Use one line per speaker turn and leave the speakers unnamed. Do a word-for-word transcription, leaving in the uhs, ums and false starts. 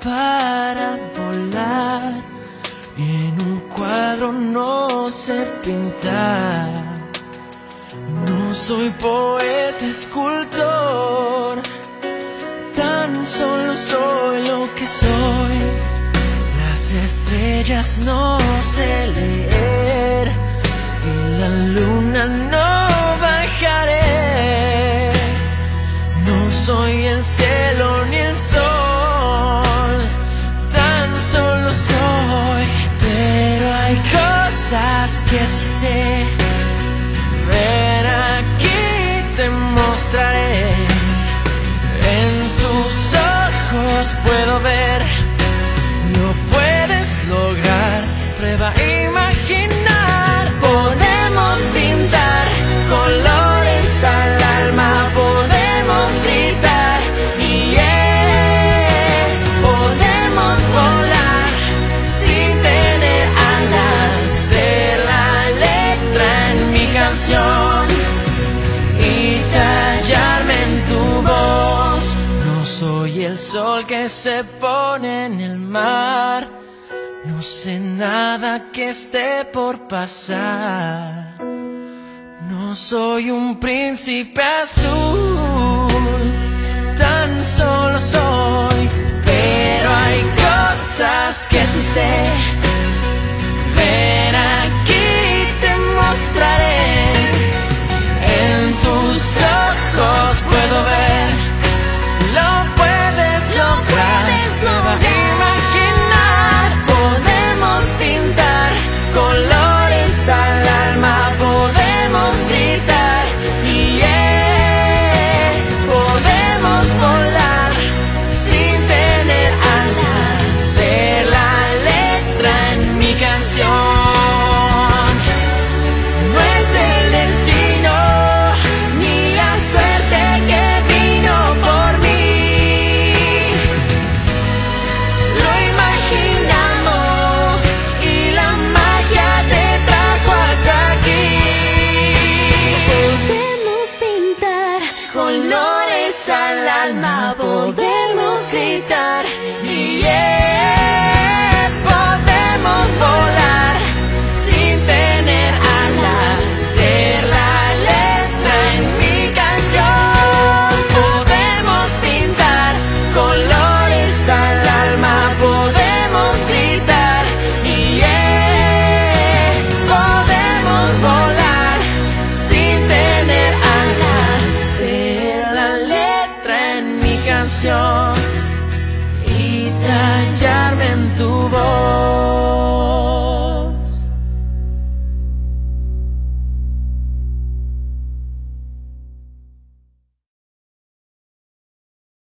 para volar, en un cuadro no sé pintar. No soy poeta, escultor, tan solo soy lo que soy. Las estrellas no sé leer y la luna no bajaré. No soy el cielo ni el sol, tan solo soy. Pero hay cosas que sí sé. Ven aquí, te mostraré. En tus ojos puedo ver. Lo puedes lograr. Prueba a imaginar. Podemos pintar colores al alma. Podemos gritar y yeah. Podemos volar sin tener alas. Ser la letra en mi canción y tallarme en tu voz. No soy el sol que se pone en el mar. No sé nada que esté por pasar. No soy un príncipe azul, tan solo soy. Pero hay cosas que sí sé. Ven aquí, te mostraré. En tus ojos puedo ver. Lo puedes lograr. Prueba a imaginar. Podemos pintar colores al alma. Podemos gritar y yeah. Podemos volar sin tener alas. Ser la letra en mi canción. No es el destino ni la suerte que vino por mí. Lo imaginamos y la magia te trajo hasta aquí. Podemos pintar colores al alma. Podemos gritar y yeah. Podemos volar sin tener alas. Ser la letra en mi canción. Podemos pintar colores al alma. Podemos gritar y yeah. Podemos volar sin tener alas. Ser la letra en mi canción y tallar